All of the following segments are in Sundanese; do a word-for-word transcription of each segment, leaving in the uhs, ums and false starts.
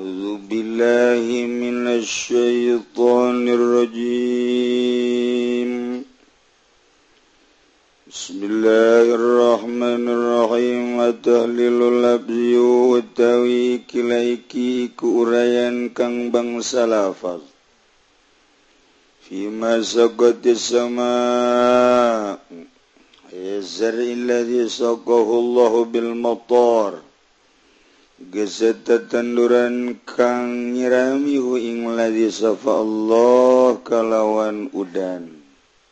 A'udzu billahi minasy syaithanir rajim. Bismillahirrahmanirrahim. Tahlilul labzi wa tawi kilaiki ku urayan kang bangsa lafaz. Fi ma saqatis sama yazril ladzi saqahu Allahu bil matar. Geseta tanduran kang nyirami hu ing ladzi safa Allah kalawan udan.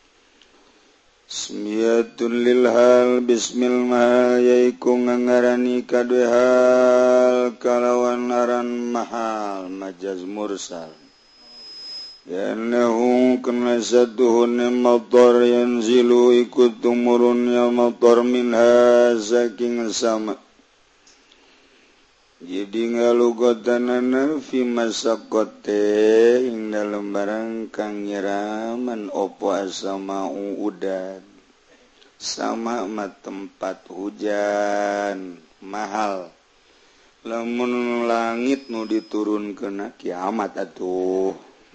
Bismiyatun lil hal bismil mahal yaiku ngangarani kadue hal kalawan aran mahal majaz mursal. Yanahu kana satuhun matar yanzilu ikut tumurun ya matar minha saking sama. Jadi ngalugotanana fi masaqate ing dalem barang kang nyiraman opo asamau udan sama ma tempat hujan mahal lamun langit nu diturunkeun kiamat atuh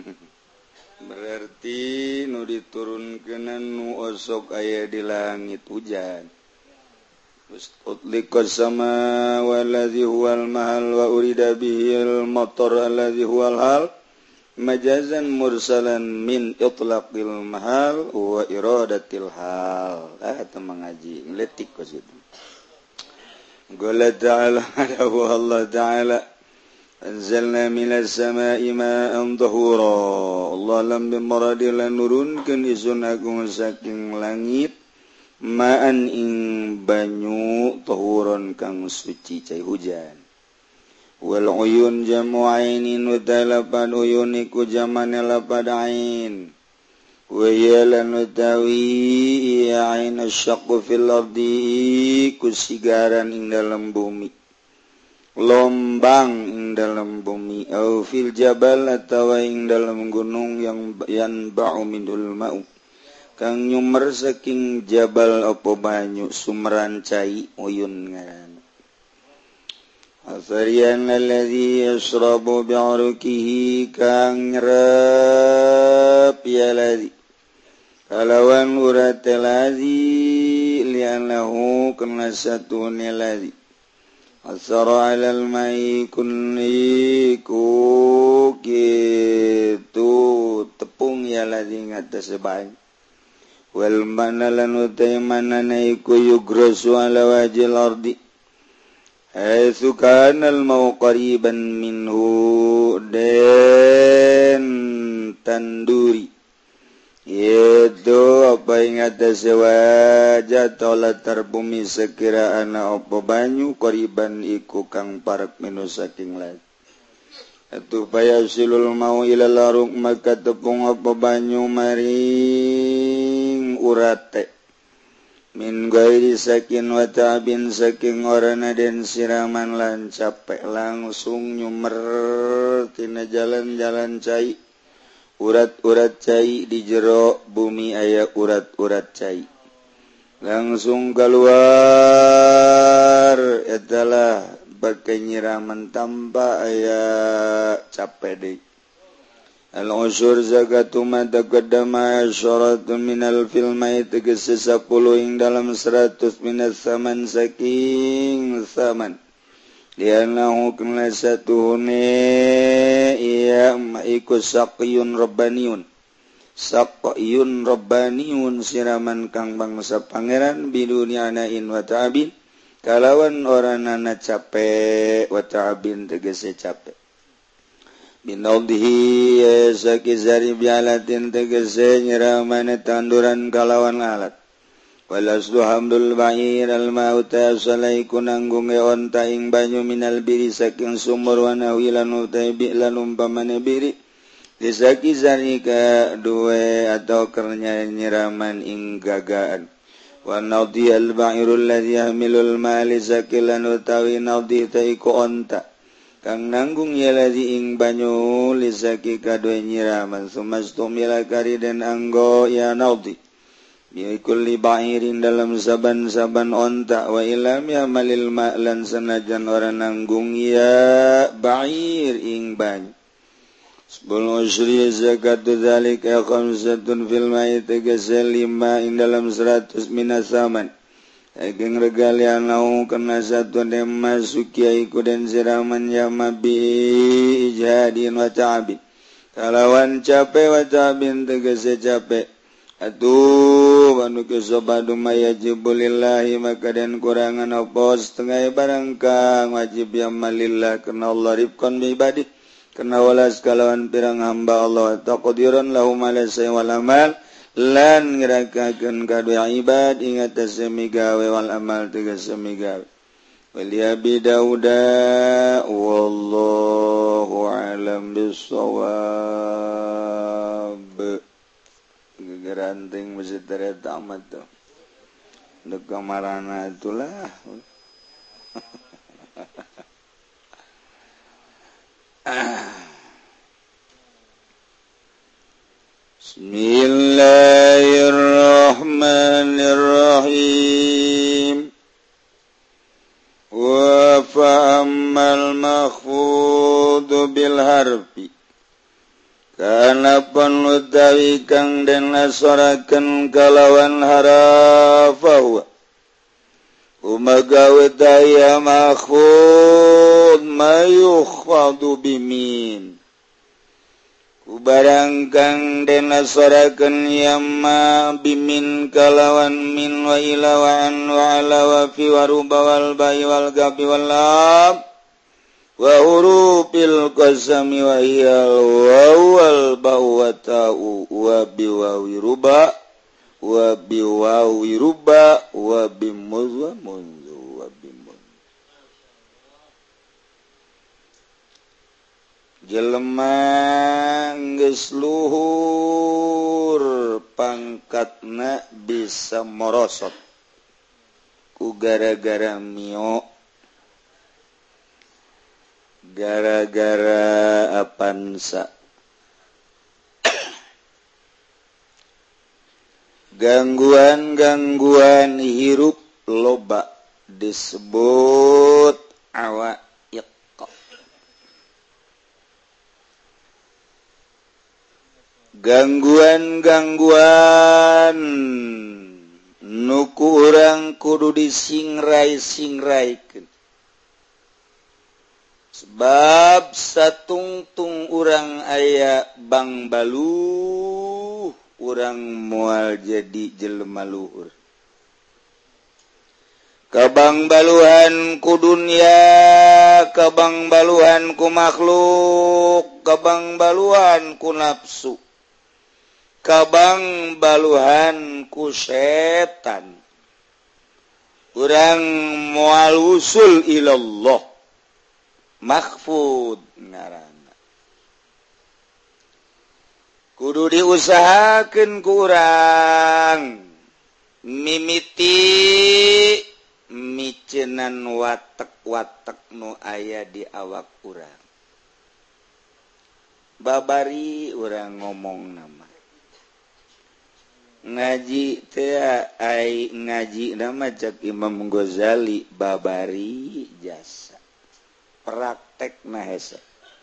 berarti nu diturunkeun nu osok aya di langit hujan. Utliqas sama waladzi huwal mahal wa urida bihil matar alladzi huwal hal majazan mursalan min itlaqil mahal wa iradatil hal. Ah eta mengaji ngletik ka situ. Qala ta'ala Allah ta'ala anzalna minas sama'i ma'an tahura. Allah lam bimaradil nurunkeun izun agung saking langit ma'an ing banyu tahuron kang suci cai hujan. Wal uyun jamu ainin wa talapan uyun iku jamane lapad ain. Wa yalan utawi ya ain asyaqqu fil ardi kusigaran ing dalam bumi. Lombang ing dalam bumi au fil jabal atawa ing dalam gunung yang yan ba'u minul ma'u. Kang nyumer saking jabal opo banyu sumeran cai uyun ngaran. Asarian alladzi yashrabu bi'arukihi kang nyerep ya ladzi. Kalawan urat ladzi li'annahu kana satune ladzi. Asara 'alal mai kunniku kitu tepung ya ladzi ngatas banyu. Wal mana lan utai mana naiku yugrasu ala wajil ardi haitsu kana al mau qariban minhu den tanduri yaitu apa yang atas wajah tola terbumi sekira ana apa banyu qariban iku kang parek minu saking lain. Atu paya silul mau ila laruk maka tepung apa banyu maring urate min gairi sakin wa ta'bin saking orana den siraman lan capek langsung nyumer tina jalan-jalan cai urat-urat cai di jero bumi aya urat-urat cai langsung keluar etalah bagai nyiraman tanpa aya capek deh. Al-usyur zakatu ma taqaddama asyaratun minal filmai tegesi sepuluh ing dalam seratus minas saman saking saman. Lianahu kena satuhune iya maiku saqiyun rabbaniun. Saqiyun rabbaniun siraman kang bangsa pangeran biduni anain wa ta'abin. Kalawan oranana capek wa ta'abin tegese capek. Binaudihi sakizari bialatin tegese nyiramane tanduran kalawan alat. Walasdu hamdul ba'ir al-ma'uta salaiku nanggung e onta ing banyu minal biri saking sumur wanawilan utai bi'lan umpamane biri. Disakizari ka duwe atau kernya nyiraman ing gagaan. Wa naudi al-ba'irul ladzi yahmilul mali sakilan utawi naudi taiku onta kang nanggung ya ladzi ing banyu lisaki kadue nyiraman sumastum ila kari den anggo ya naudi bikulli ba'irin dalam saban-saban onta wa ilam yamalil ma'lan sanajan ora nanggung ya ba'ir ing bany sebelum usri zakatu dzalika khamsatun fil ma'i tegese lima ing dalam seratus minasaman Egeng regalian nau kena satu dem masuki iku den siraman yama bi ijadin wa ta'bin kalawan capek wa ta'bin tegese capek atuh anu kesobadu mayajibulillahi maka den kurangan apa setengah barang kang wajib yamalillah kena Allah rifqan bi ibadi kena walas kalawan pirang hamba Allah taqdiran lahum ala wal amal lan ngerakakeun kadua ibad ingat semi gawe wal amal tegas semi gawe wal abi dauda wallahu alam bissawab gegeranting masjid tamat tuh untuk kamarana itulah Bismillahirrahmanirrahim wa fa'ammal makhfudu bil harfi kana panutawi kang den nasaraken kalawan harafahu umagawe daya makhfud mayukhadu bimin Kubarang kang den nasaraken yamma bimin kalawan min wa ila wa an wa ala wa fi wa ruba wal bai wal gabi wal lam wa hurufil qasami wa hiyal wa wal ba wa ta'u wa bi wa ruba wa bi wa ruba wa bi muz wa munzu wa bi mun jelema geus luhur pangkatna bisa morosot ku gara-gara mio gara-gara apansa gangguan-gangguan hirup loba disebut awa gangguan-gangguan nuku urang kudu disingrai-singraikeun sebab satungtung urang aya bang baluh urang moal jadi jelema luhur kabang baluhan ku dunya kabang baluhan ku makhluk kabang baluhan ku nafsu kabang baluhan ku setan urang moal usul ilallah makhfud ngaranna kudu diusahakeun ku urang mimiti micenan watek-watek nu aya di awak urang babari urang ngomong nama ngaji teh ai ngaji nama cak Imam Ghazali babari jasa praktekna hese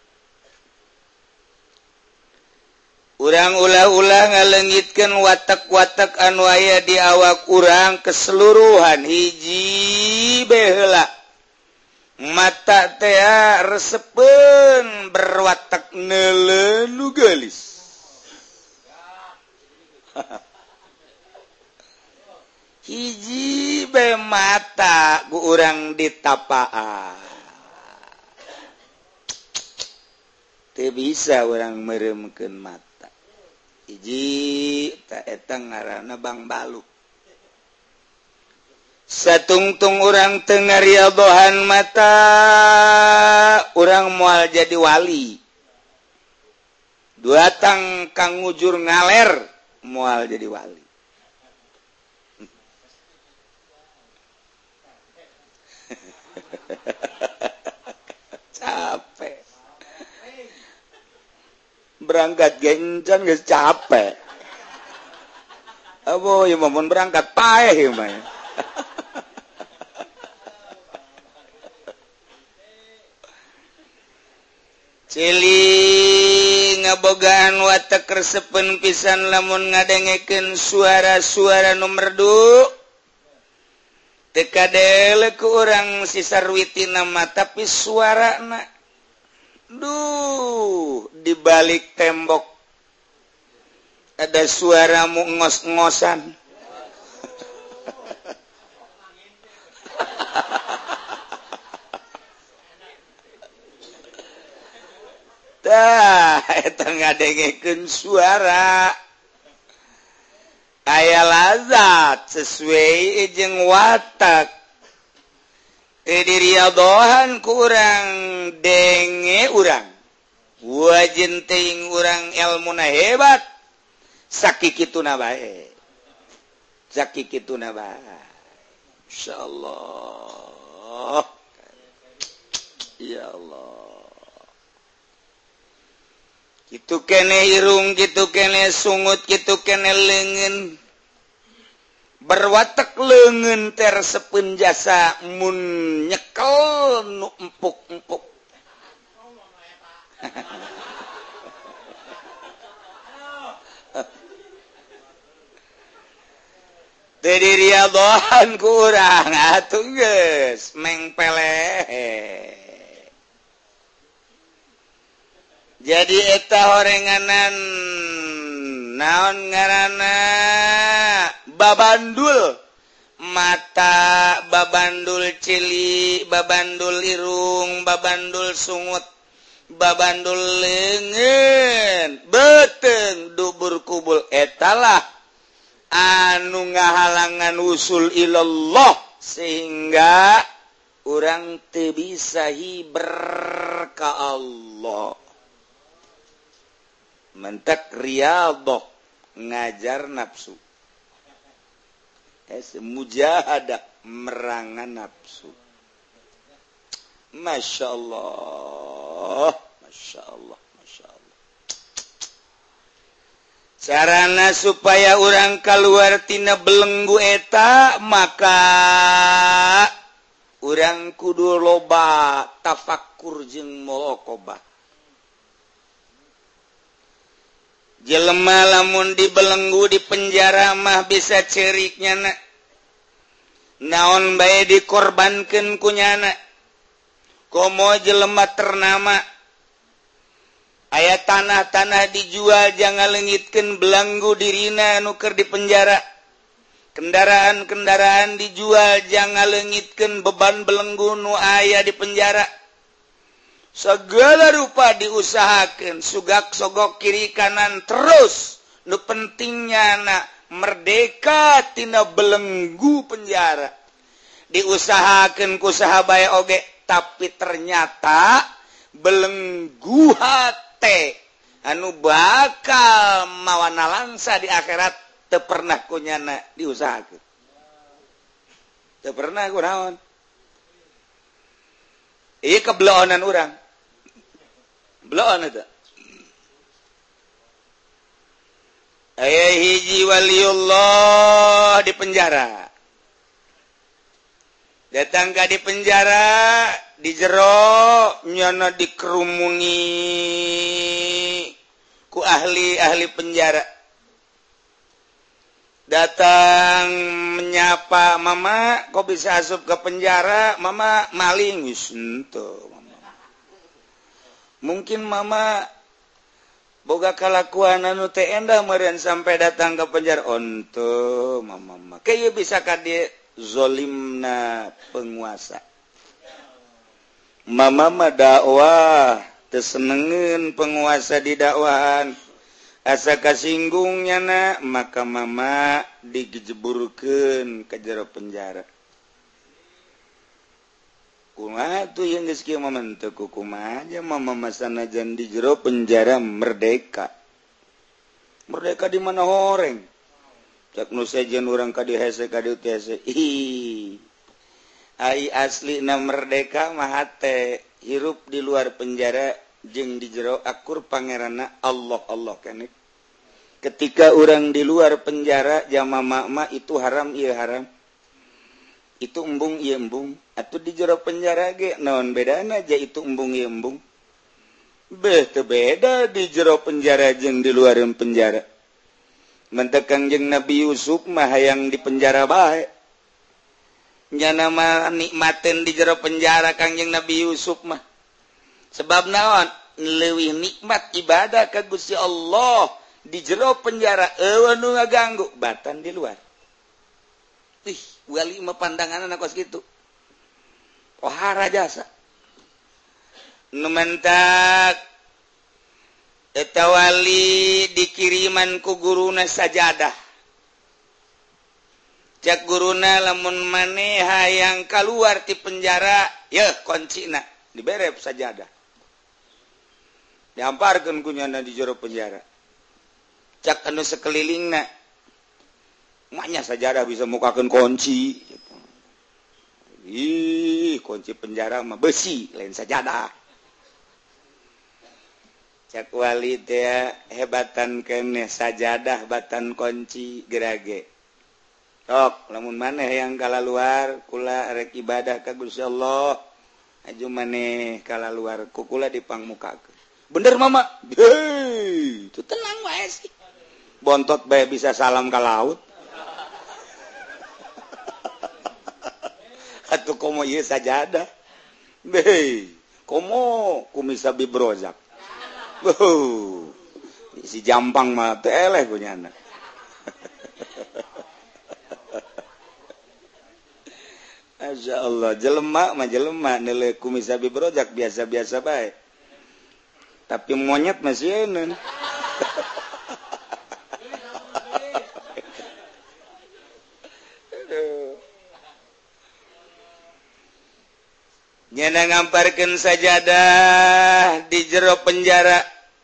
urang ulah-ulah ngalengitkeun watek-watek anu aya di awak urang keseluruhan hiji baheula mata teh resepeun berwatek neuleuh nu geulis hiji bae mata ku urang ditapaan teu bisa urang meureumekeun mata hiji ta eta ngaranna bang balu satungtung urang teu ngariadohan mata urang moal jadi wali duatang kang ngujur ngaler moal jadi wali capek berangkat gencan geus capek Abo ya mau berangkat paeh mah. Cili ngabogaan watak resepen pisan lamun ngadengekeun suara-suara nu merdu. Teu kadele ku urang si sarwitina mah tapi suarana duh di balik tembok ada suara mu ngos-ngosan. Tah, eta ngadengekeun suara aya lazat sesuai jeung watak. Teu diriadohan ku urang denge urang. Wajen teuing urang elmuna hebat. Sakikituna bae. Sakikituna bae. Insyaallah. Ya Allah. Kitu kene irung, kitu kene sungut, kitu kene leungeun. Berwatek leungeun ter sepeun jasa mun nyekel nu empuk-empuk. Teu diriadohan ku urang atuh geus mengpeleh. Jadi eta horenganan naon ngaranna babandul mata, babandul cili, babandul irung, babandul sungut, babandul leungeun, beuteung dubur kubul etalah anu ngahalangan usul ilallah sehingga urang teu bisa hiber ka Allah. Mentak riyadhah ngajar nafsu. Es mujahadah merangan nafsu. Masya Allah, Masya Allah, Masya Allah. Carana supaya orang keluar tina belenggu eta maka orang kudu loba tafakkur jeung muraqabah. Jelema lamun dibelenggu di penjara mah bisa ceriknya na. Naon bae dikorbankeun ku nyana. Komo jelema ternama. Aya tanah-tanah dijual jangan leungitkeun belenggu dirina anu keur di penjara. Kendaraan-kendaraan dijual jangan leungitkeun beban belenggu nu aya di penjara. Segala rupa diusahakan sugak sogok kiri kanan terus nu pentingnya na merdeka tina belenggu penjara diusahakan ku sahabae oge tapi ternyata belenggu hate anu bakal mawana langsa di akhirat teu pernah kunyana diusahakeun teu pernah kunaon ieu kebeloonan urang belon itu. Aya hiji waliullah di penjara. Datang ka di penjara, di jero nyana dikerumuni ku ahli-ahli penjara. Datang menyapa, "Mama, kok bisa asup ke penjara? Mama maling." Wis henteu. Mungkin mama boga kalakuan anu teu endah meureun sampai datang ke penjara. Onto mama mah kayak bisa ka dieu zolimna penguasa. Mama mah dakwah teu senengeun penguasa di dakwahan. Asa kasinggung nyana maka mama dijeburkeun ka jero penjara. Kumaha tuh yang geus kieu mah teu kumaha aja mama masanajan di jero penjara merdeka. Merdeka di mana horeng? Cak nu sejen urang ka dieu hese ka dieu hese. Ih. Ai aslina merdeka mah teh hirup di luar penjara jeung di jero akur pangeranna Allah Allah keneh. ketika orang di luar penjara jama makma itu haram iya haram itu embung iya embung atau di jero penjara ge naon bedana aja itu embung iya embung bete beda di jero penjara jeung di luar penjara mentek Kangjeng Nabi Yusuf mah hayang di penjara bae nya nama nikmatin di jero penjara Kangjeng Nabi Yusuf mah sebab naon leuwih nikmat ibadah ka Gusti Allah di jero penjara eueuh nu ngaganggu batan di luar ih wali mah pandanganna kos kitu pohara jasa nu mentak eta wali dikiriman ku guruna sajadah cak guruna lamun maneh hayang kaluar ti penjara yeuh kuncina diberep sajadah dihamparkeun ku nyana di jero penjara cak anu sekelilingna maknya sajadah bisa mukakeun kunci ih kunci penjara mah besi lain sajadah cak wali teh hebatan keneh sajadah batan kunci gerage tok lamun maneh yang kalaluar kula rek ibadah ka Gusti Allah aju maneh kalaluar ku kula dipangmukakeun bener mama hei itu tenang wae sih bontot bae bisa salam ka laut atuh komo ieu sajadah hei komo kumisa bibrozak uh si jampang mah teh eleh kunyana Masya Allah jelema mah jelema nilai kumisa bibrozak biasa-biasa bae tapi monyet masih enak nyana ngamparkeun sajadah di jero penjara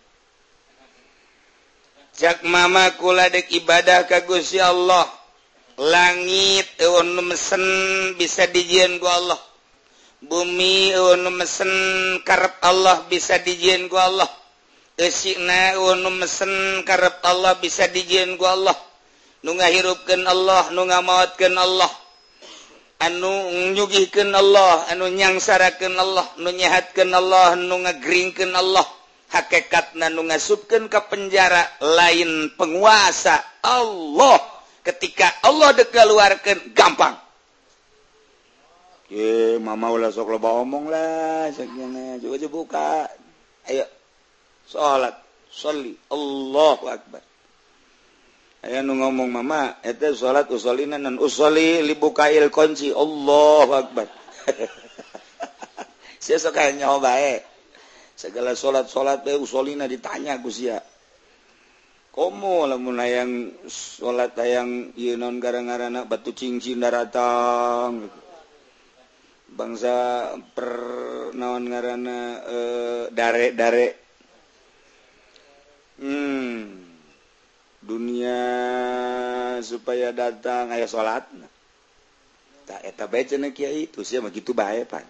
cak mama kula dek ibadah ka Gusti Allah langit eueun nu mesen bisa dijieun ku Allah bumi eueun nu mesen karep Allah bisa dijieun ku Allah eusina eueun nu mesen karep Allah bisa dijieun ku Allah nu ngahirupkeun Allah nu ngamaotkeun Allah anu nyugihkeun Allah anu nyangsarakeun Allah nu nyehatkeun Allah nu ngagringkeun Allah hakikatna nu ngasupkeun ka penjara lain penguasa Allah ketika Allah dek keluarkeun gampang ye mama ulah sok loba omong lah sakjana coba coba buka ayo salat sholli Allahu akbar aya nu ngomong mama eta salat usolina nan usoli libukail kunci Allahu akbar sia sok aya nyoba bae segala salat-salat bae usolina ditanya ku sia komo lamun hayang salat hayang ieu naon gara-garana batu cincin daratang bangsa per naon ngaranna e, dare-dare hmm dunia supaya datang aya salatna tak eta bae cenah kiai itu sia mah kitu bae pan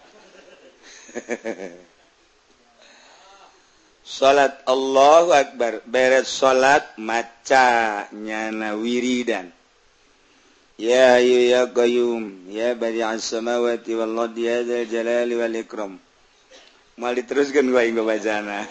salat Allahu akbar beres salat maca nyana wiridan ya ayu ya qayyum ya badi'as samawati wal ardi ya dzal jalali wal ikram mal diteruskeun gua inggo bacana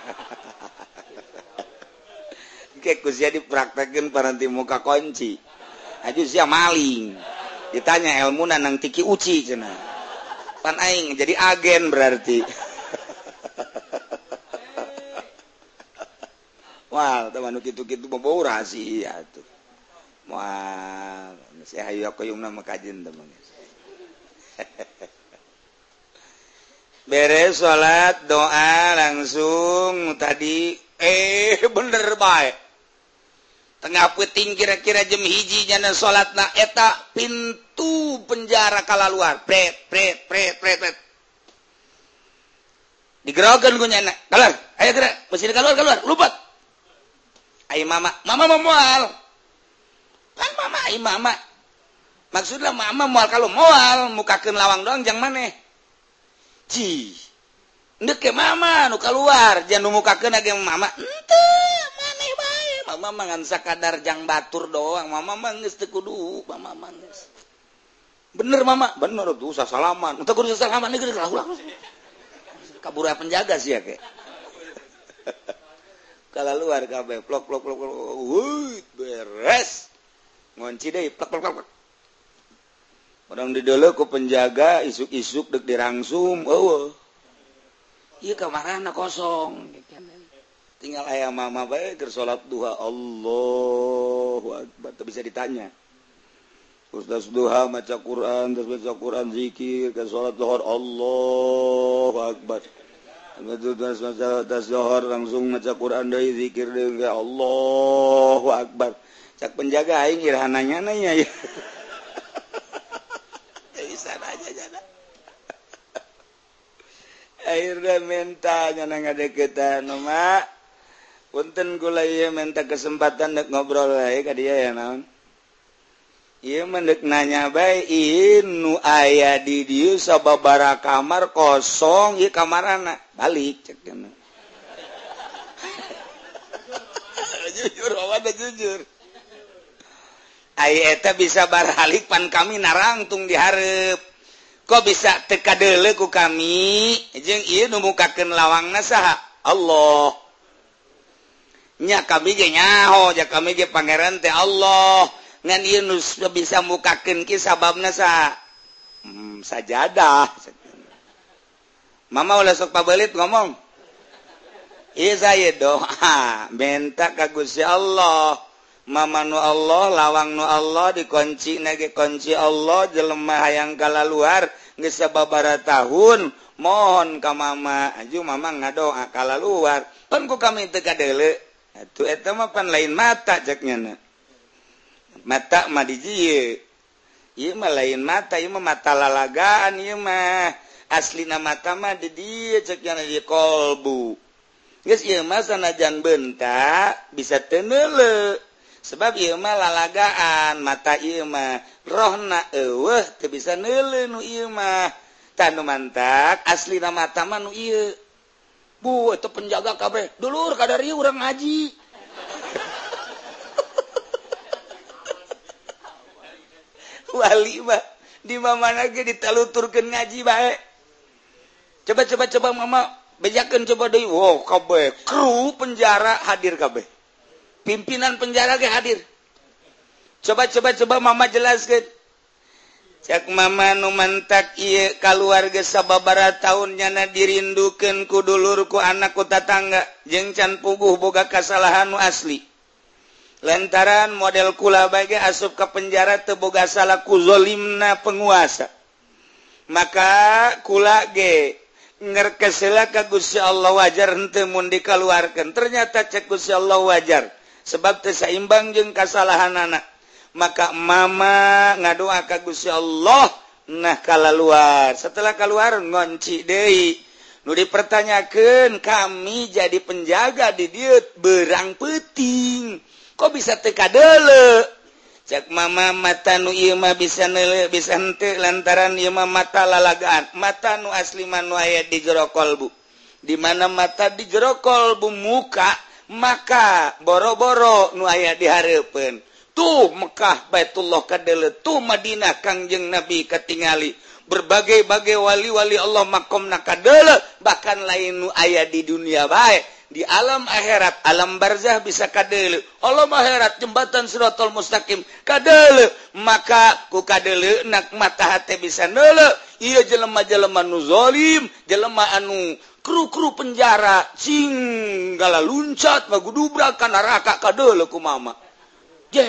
ke kusia dipraktekeun paranti muka kunci aju sia maling ditanya ilmuna nang tiki uci cenah pan aing jadi agen berarti wal teh anu kitu-kitu mah bau rahasia tuh wal si hayu koyungna mah kajen teh beres salat doa langsung tadi eh bener bae tengah peuting kira-kira jam hiji jana salatna eta pintu penjara kalaluar pret pret pret pret pret digerokeun ku nyana keluar ayo geura mesin keluar keluar lupat ai mama mama mau moal kan mama ai mama maksudnya mama moal kalau moal mukakeun lawang doang jang maneh ci ndek ke mama nu keluar jangan nu mukakeun age mama henteu maneh bae mah mama mangan sakadar jang batur doang mama manggeus teu kudu mama manggeus bener mama bener tuh usah salaman untuk kudu salaman geus ulah kabura penjaga sih ya ke kalau luar kabeh plok plok plok plok wuih beres ngunci deui plok plok plok orang di dulu ku penjaga isuk-isuk dek dirangsum eueuh ieu kamarana kosong tinggal aya mama bae keur salat duha Allahu akbar teu bisa ditanya Ustaz duha maca Quran terus baca Quran zikir ke salat zuhur Allahu akbar terus maca zuhur langsung maca Quran deui zikir deui Allahu akbar cak penjaga aing irahananya nanya ya bisa aja jana akhirnya minta nyana ngadeketan mak punten kula ieu minta kesempatan dek ngobrol wae ka dieu ya naon ieu mendek nanya bae nu aya di dieu sababaraha kamar kosong ieu kamarana balik cek cenah jujur awak jujur aya eta bisa balik pan kami narangtung di hareup kok bisa teka deuleu ku kami jeung ieu nu mukakeun lawangna saha Allah nya kami ge nyaho ja kami ge pangeran teh Allah ngan ieu nu bisa mukakeun ki sababna saha hmm, sajadah mama ulah sok pabelit ngomong ieu saya doa minta ka Gusti Allah mama nu Allah lawang nu Allah dikunci nage kunci Allah jelema hayang kalaluar geus sababaraha tahun mohon ka mama aju mama ngadoa kalaluar pan ku kami teu kadeuleu atuh eta mah pan lain mata ceknya mata mah di dieu ieu mah lain mata ieu mah mata lalagaan ieu mah aslina mata mah di dieu ceknya di kolbu geus ieu mah sanajan beunta bisa teu neuleu sebab ieu mah lalagaan mata ieu mah rohna eueuh teu bisa neuleu nu ieu mah tanu mantak aslina mata mah nu ieu bu eta penjaga kabeh dulur kadari urang ngaji wali mah di mamana ge ditaluturkeun ngaji bae coba coba coba mama bejakeun coba deui wow kabeh kru penjara hadir kabeh pimpinan penjara ge hadir coba coba coba mama jelaskeun cak mama nu mantak ieu kaluarga sababaraha taun nyana dirindukeun ku dulur ku anak ku tatangga jeung can puguh boga kasalahan nu asli lantaran model kula bae asup ka penjara teu boga salah ku zalimna penguasa maka kula ge ngerkes heula ka Gusti Allah wajar henteu mun dikaluarkeun ternyata cek Gusti Allah wajar sebab teu saimbang jeung kasalahanana maka mama ngadoa ka Gusti Allah nah kalaluar setelah keluar ngonci deui nu dipertanyakeun kami jadi penjaga di dieu berang peuting kok bisa teu kadeuleu cek mama mata nu ieu mah bisa neuleu bisa henteu lantaran ieu mah mata lalagaan mata nu asli mah nu aya di jero kolbu di mana mata di jero kolbu muka maka boro-boro nu aya di hareupeun tuh Mekah Baitullah kadeuleu tuh Madinah Kangjeng Nabi katingali berbagai-bagai wali-wali Allah makomna kadeuleu bahkan lain nu aya di dunia bae di alam akhirat alam barzah bisa kadeuleu alam akhirat jembatan Siratal Mustaqim kadeuleu maka ku kadeuleu nak mata hate bisa neuleu ieu jelema-jelema nu zalim jelema anu kru-kru penjara cing gala luncat magudubrak ka neraka kadeuleu ku mama je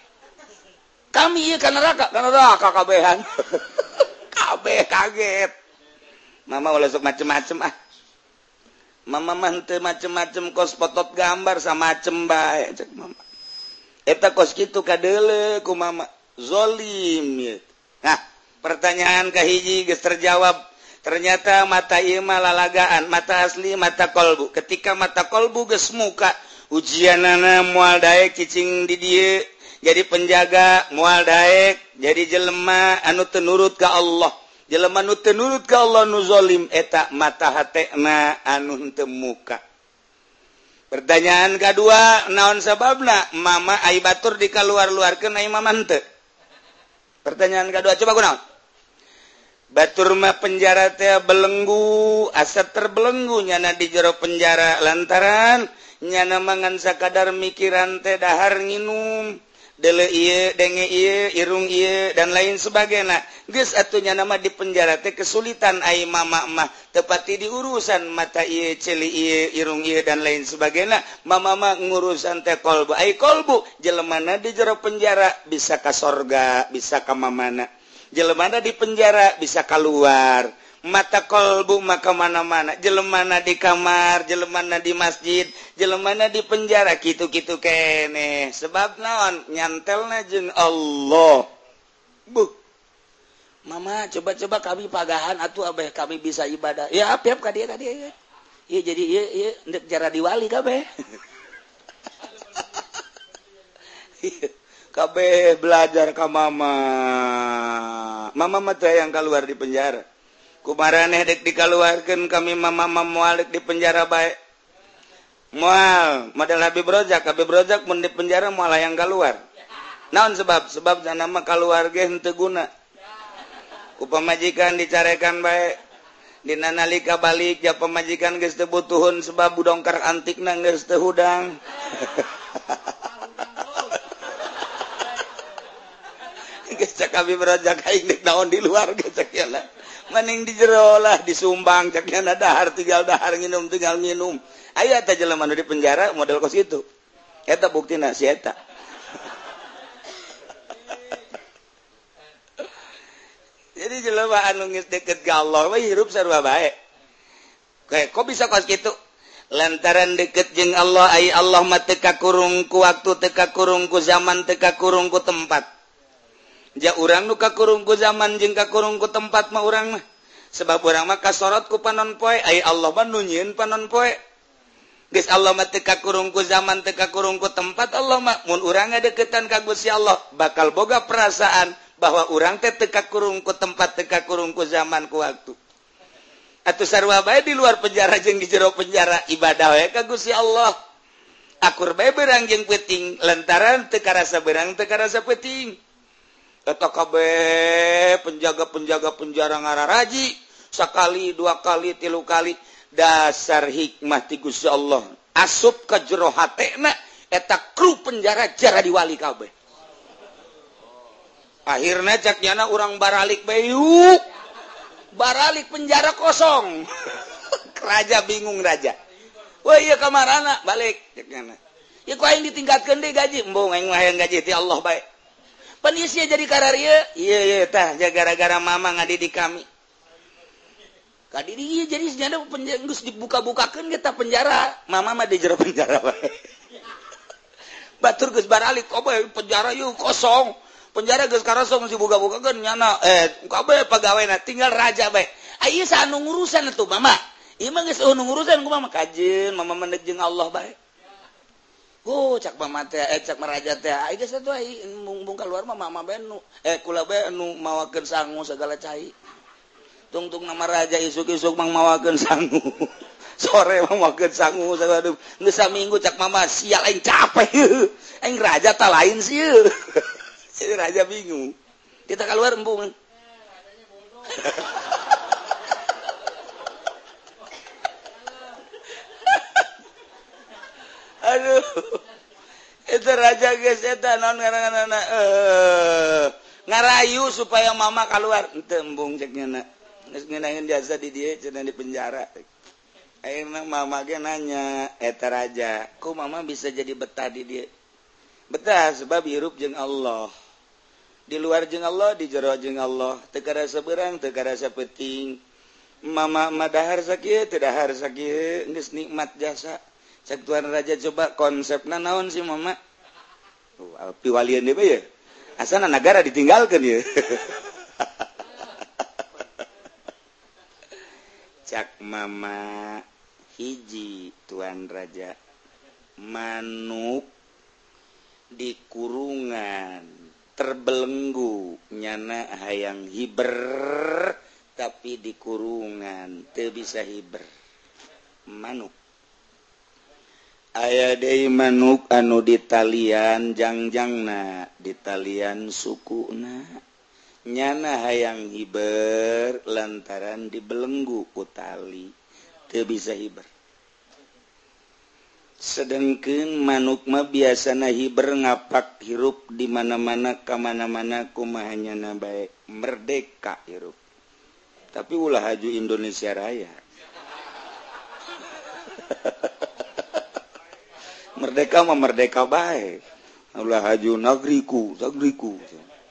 kami ieu ka neraka ka neraka kabehan kabeh kaget mama ulah sok macem-macem ah mama mah teu macem-macem kos potot gambar sama macem bae cek mama eta kos kitu kadeuleu ku mama zalim ye nah pertanyaan kahiji geus terjawab ternyata mata ieu mah lalagaan mata asli mata kolbu ketika mata kolbu geus muka ujianana moal daek cicing di dieu jadi penjaga moal daek jadi jelema anu teu nurut ka Allah jelema nu teu nurut ka Allah nu zalim eta mata hatena anu henteu muka Pertanyaan kedua, naon sababna mama ai batur di kaluar-luarkeun ai mama henteu? Pertanyaan kedua, coba kunaon? Batur mah penjara teh belenggu, asa terbelenggu nyana di jero penjara lantaran nyana mangan sakadar mikiran teh dahar nginum, dele ieu, denge ieu, irung ieu dan lain sebagainya. Geus atuh nyana mah di penjara teh kesulitan ai mama mah tepati di urusan mata ieu, celi ieu, irung ieu dan lain sebagainya. Mama mah ngurusan teh kolbu, ai kolbu jelemana di jero penjara bisa ka sorga, bisa ka mamana. Jelemana di penjara bisa keluar, mata kolbu maka mana-mana, jelemana di kamar, jelemana di masjid, jelemana di penjara, gitu-gitu kene. Sebab naon nyantelna jeung Allah. Bu, mama coba-coba kami pagahan atuh abeh kami bisa ibadah. Ya apiap ka dieu ka dieu. Ieu jadi ieu ieu ndek jara diwali kabeh. Kabeh belajar ka mama. Mama mah teh yang keluar di penjara. Kumaraneh dek dikaluarkeun kami mama mama moal dek di penjara bae. Moal model Habib Rozak, Habib Rozak mun di penjara moal yang keluar. Naon sebab? Sebab jana mah keluar ge henteu guna. Ku pamajikan dicarekan bae. Dina nalika balik ja pamajikan geus teu butuhun sebab budongkar antikna geus teu hudang. Cak Habib Rozak aing dek naon di luar cak yana. Maning di jero lah disumbang cak yana dahar tinggal dahar nginum tinggal nginum. Aya teh jelema nu di penjara model kos itu. Eta buktina si eta. Jadi jelema anu geus deket ka Allah we hirup sarua bae. Kayak kok bisa kos kitu? Lantaran deket jeung Allah ai Allah mah teu kakurung ku waktu, teu kakurung ku zaman, teu kakurung ku tempat. Ja urang nu kakurung ku zaman jeung kakurung ku tempat mah urang mah. Sebab urang mah kasorot ku panon poe, ai Allah mah nu nyieun panon poe. Geus Allah mah teu kakurung ku zaman, teu kakurung ku tempat, Allah mah mun urang ngadeukeutan ka Gusti Allah bakal boga perasaan bahwa urang teh teu kakurung ku tempat, teu kakurung ku zaman ku waktu. Atuh sarua bae di luar penjara jeung di jero penjara ibadah we ka Gusti Allah. Akur bae beurang jeung peuting lantaran teu karasa beurang teu karasa peuting. Eta kabeh penjaga-penjaga penjara ngararaji sakali, dua kali, tilu kali dasar hikmah ti Gusti Allah. Asup ka jero hatena eta kru penjara jara diwali kabeh. Akhirna cak nyana urang baralik bae yuk. Baralik penjara kosong. Raja bingung raja. Wah iya kamarana balik cak nyana. Ya ku aing ditingkatkeun deui gaji, embung aing mah hayang gaji ti Allah bae. Panisnya jadi kararieu, iya iya tah gara-gara mama ngadidik kami. Kadidik ieu jadi senyana geus dibuka-bukakeun kita penjara, mama mah di jero penjara bae. Batur geus baralik, kabeh penjara yeuh kosong. Penjara geus karosong dibuka-bukakeun nyana eh kabeh pagawena tinggal raja bae. Aya sanu ngurusan atuh mama. Ieu mah geus nu ngurusan ku mama kajeun, mama mendek jeung Allah bae. Oh, cak mama teh, eh cak meraja teh, ai geus atuh ai mung keluar mah mama bae nu eh kula bae nu mawakeun sangu segala cai. Tungtung nama raja isuk-isuk mang mawakeun sangu. Sore mah mawakeun sangu sagala geus saminggu cak mama sial aing capek. Aing raja tah lain sieun. Si raja bingung. Kita keluar embung. Aduh, itu raja geus eta naon ngaranna eh ngarayu supaya mama keluar henteu embung cek nyana geus ngeunaheun jasa di dieu cenah di penjara. Akhirna mama ge nanya eta raja, "Ku mama bisa jadi betah di dieu?" Betah sebab hirup jeung Allah. Di luar jeung Allah, di jero jeung Allah, teu karasa beurang, teu karasa peuting. Mama mah dahar sakieu, teu dahar sakieu, geus nikmat jasa. Cek tuan raja coba konsepna naon sih mama? Oh, piwalian dia ya. Asana negara ditinggalkan ya. Cak mama hiji tuan raja manuk di kurungan terbelenggu nyana hayang hiber tapi di kurungan teu bisa hiber manuk. aya deui manuk anu di talian jangjangna di talian sukuna nyana hayang hiber lantaran dibelenggu ku tali teu bisa hiber. Sedengkeun manuk mah biasana hiber ngapak hirup di mana-mana ka mana-mana kumahanyana bae merdeka hirup. Tapi ulah haju Indonesia Raya. Merdeka mah merdeka bae. Ulah haju negriku, negriku.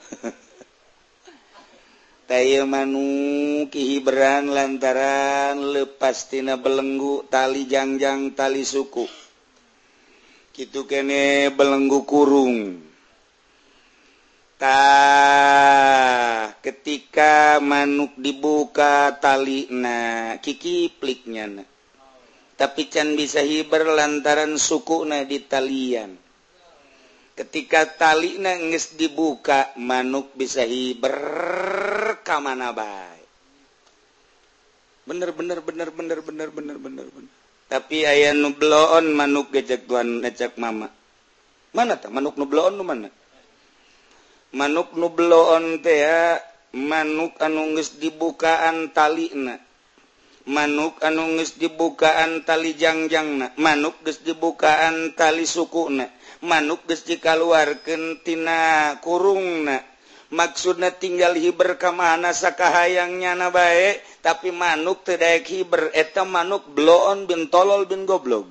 Taya manuk hiberan lantaran lepas tina belenggu tali jangjang tali suku. Kitu kene belenggu kurung. Tah ketika manuk dibuka talina kikipliknya na. Tapi can bisa hiber lantaran sukuna di talian. Ketika talina geus dibuka manuk bisa hiber ka mana bae. Bener bener bener bener bener bener bener bener. Tapi aya nu bloon manuk gejek tuan ngecek mama. Mana tah manuk nu bloon nu mana? Manuk nu bloon teh ya manuk anu geus dibukaan talina. Manuk anu geus dibukaan tali jangjangna, manuk geus dibukaan tali sukuna, manuk geus dikaluarkeun tina kurungna. Maksudna tinggal hiber ka mana sakahayangnya na bae, tapi manuk teu daek hiber eta manuk bloon bin tolol bin goblok.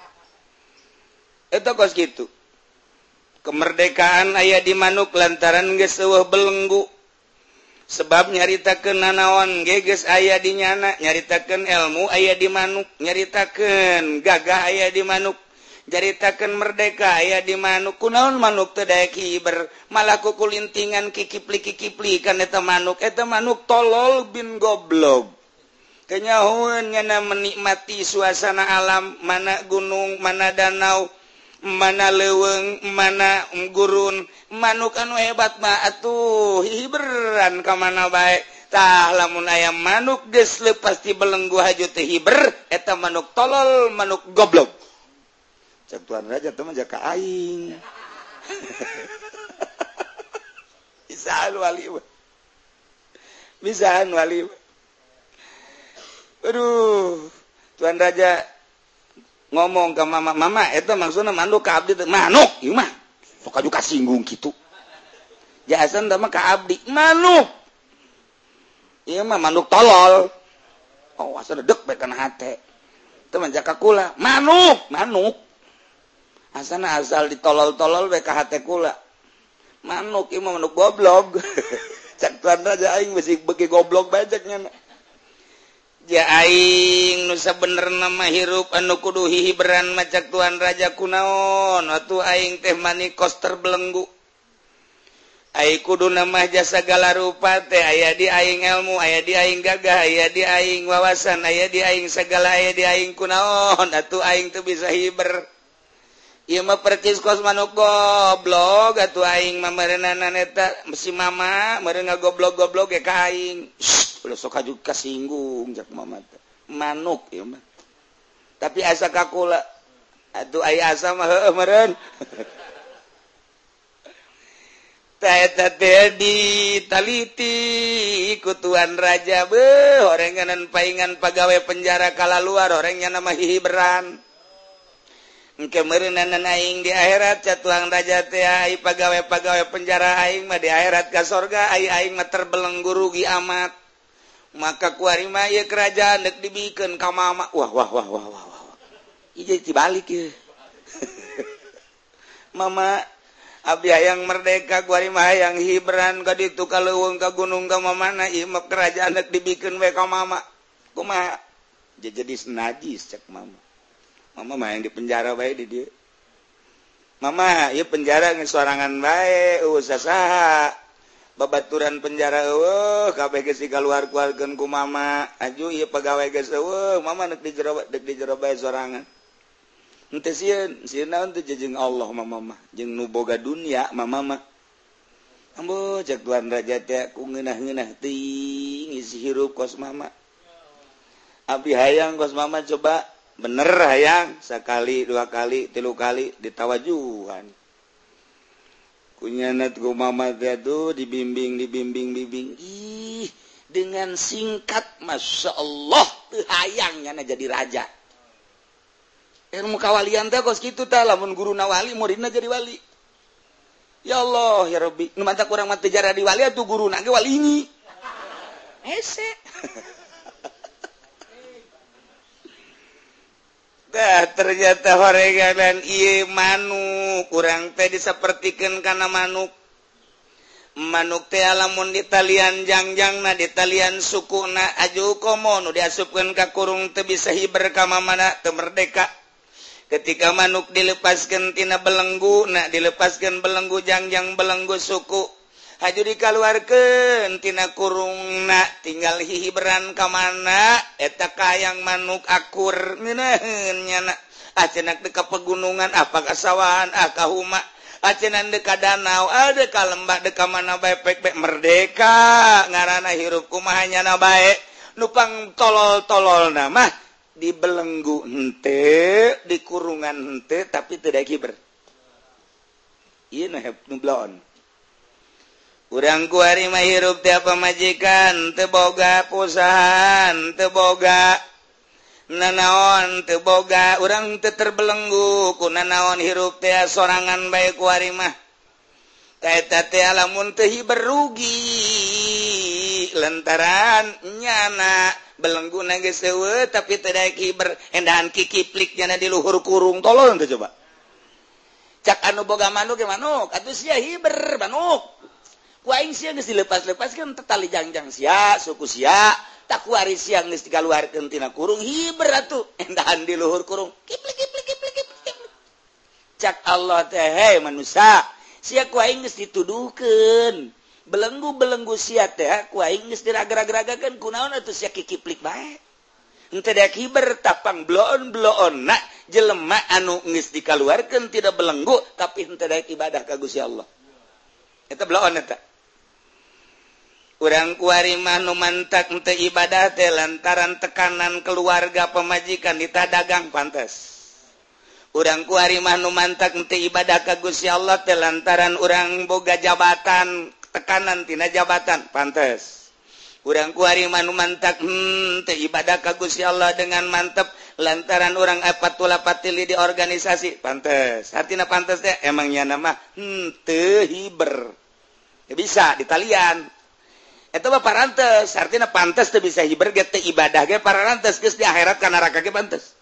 Eta kos kitu. Kemerdekaan aya di manuk lantaran geus eueuh belenggu. Sebab nyaritakeun nanaon ge geus aya di nyana, nyaritakeun ilmu aya di manuk, nyaritakeun gagah aya di manuk. Jaritakeun merdeka aya di manuk. Kunaon manuk teu daek hiber, malah kukulintingan kikipli-kikipli kan eta manuk. Eta manuk tolol bin goblok. Kenyahoeun nyana menikmati suasana alam, mana gunung, mana danau, mana leuweung, mana gurun. Manuk anu hebat mah atuh hiberan ka mana bae. Tah lamun aya manuk geus leupas ti belenggu haju teh hiber, eta manuk tolol, manuk goblok. Cek tuan raja teman jaka aing. Bisaan wali. Bisaan wali. Aduh, tuan raja ngomong ke mama, mama eta maksudna manuk ka abdi teh manuk, ieu mah. Sok aju kasinggung kitu. Jasan teh mah ka abdi manuk. Ieu mah manuk tolol. Oh, asa dedek bae kana hate. Teu mah jaka kula, manuk, manuk. Asana asal ditolol-tolol we ka hate kula. Manuk ieu mah manuk goblok. Cak tuan raja aing besi beuki goblok bae cek nya. Ja aing nu sabenerna mah hirup anu kudu hihiberan mah cak tuan raja kunaon? Atuh aing teh manikos terbelenggu. Aing kudu mah jasa segala rupa teh aya di aing ilmu, aya di aing gagah, aya di aing wawasan, aya di aing segala aya di aing kunaon? Atuh aing teu bisa hiber. Ieu mah percis kos manuk goblok atuh aing mah meureunana eta si mama meureun ngagoblok-goblok ge ka aing. Udah sok aju kasinggung jak mama teh. Manuk ieu mah. Tapi asa ka kula. Atuh aya asa mah heueuh meureun. Tah eta teh ditaliti ku tuan raja beuh horenganan paingan pagawe penjara kalaluar horengnya nama hihiberan. Engke meureunana aing di akhirat ca tuang raja teh ai pagawe-pagawe penjara aing mah di akhirat ka sorga ai aing mah terbelenggu rugi amat. Maka kuari mah ieu kerajaan deuk dibikeun ka mama. Wah wah wah wah wah wah. Ieu jadi tibalik ieu. Mama abdi hayang merdeka kuari mah hayang hiberan ka ditu ka leuweung ka gunung ka mamana ieu mah kerajaan deuk dibikeun we ka mama. Kumaha? Jadi najis cek mama. Mama mah yang di penjara bae di dieu. Mama, ieu penjara geus sorangan bae, usah saha. Babaturan penjara eueuh, kabeh geus dikaluar-keluarkeun ku mama. Aju ieu pagawe geus eueuh, mama neuk di jero deuk di jero bae sorangan. Henteu sieun, sieun naon teh jeung Allah mama mah, jeung nu boga dunya mama mah. Ambo cek tuan raja teh ku ngeunah-ngeunah teuing isi hirup kos mama. Abdi hayang kos mama coba bener hayang sekali dua kali tilu kali ditawajuhan kunyanat ku mama tuh dibimbing dibimbing bimbing ih dengan singkat masya Allah teu hayangnya jadi raja ilmu kawalian teh kos kitu tah lamun guruna wali muridna jadi wali ya Allah ya Rabbi nu mantap urang mah teu jadi wali atuh guruna ge wali ini hese dah ternyata horeganan ieu manuk urang teh disapertikeun kana manuk manuk teh lamun di talian jangjangna di talian sukuna aju komo nu diasupkeun ka kurung teu bisa hiber ka mamana teu merdeka ketika manuk dilepaskeun tina belenggu na dilepaskeun belenggu jangjang belenggu suku haju dikaluarkeun tina kurungna tinggal hihiberan ka mana eta kayang manuk akur ngeunaheun nyana acenak deka pegunungan apa kasawahan ah ka huma acenan deka danau ada ka lembah deka mana bae pek-pek merdeka ngaranna hirup kumaha nyana bae nupang tolol-tololna mah di belenggu hente di kurungan hente tapi teu daek hiber ieu nu bloon urang kuari mah hirup teh pamajikan teu boga pusahan teu boga nanaon teu boga urang teu terbelenggu ku nanaon hirup teh sorangan bae kuari mah kaeta teh lamun teu hiber rugi lantaran nyana belengguna geus eueuh tapi teu daek hiber endahan kikiplik nyana di luhur kurung tolol teh coba cak anu boga manuk ge manuk atuh sia hiber manuk ku aing sia geus dilepas-lepaskeun teh tali jangjang sia suku sia tak kuari sia geus dikaluarkeun tina kurung hiber atuh endahan di luhur kurung kiplik kiplik kiplik kiplik cak Allah teh hei manusia sia ku aing geus dituduhkeun belenggu-belenggu sia teh ku aing geus diraga-ragakeun kunaon atuh sia kikiplik bae henteu daek hiber tapang bloon-bloonna jelema anu geus dikaluarkeun tidak belenggu tapi henteu daek ibadah ka Gusti Allah eta bloon eta urang kuari mah nu mantak henteu ibadah teh lantaran tekanan keluarga pemajikan ditadagang pantes urang kuari mah nu mantak henteu ibadah ka Gusti Allah teh lantaran urang boga jabatan tekanan tina jabatan pantes urang kuari mah nu mantak hmm, teu ibadah ka Gusti Allah dengan mantep lantaran urang apatula patili di organisasi pantes artina pantes teh emang nyana mah hmm, teu hiber ya bisa di talian eta mah parantes artina pantes teu bisa hiber ge teu ibadah ge parantes geus di akhirat ka neraka ge pantes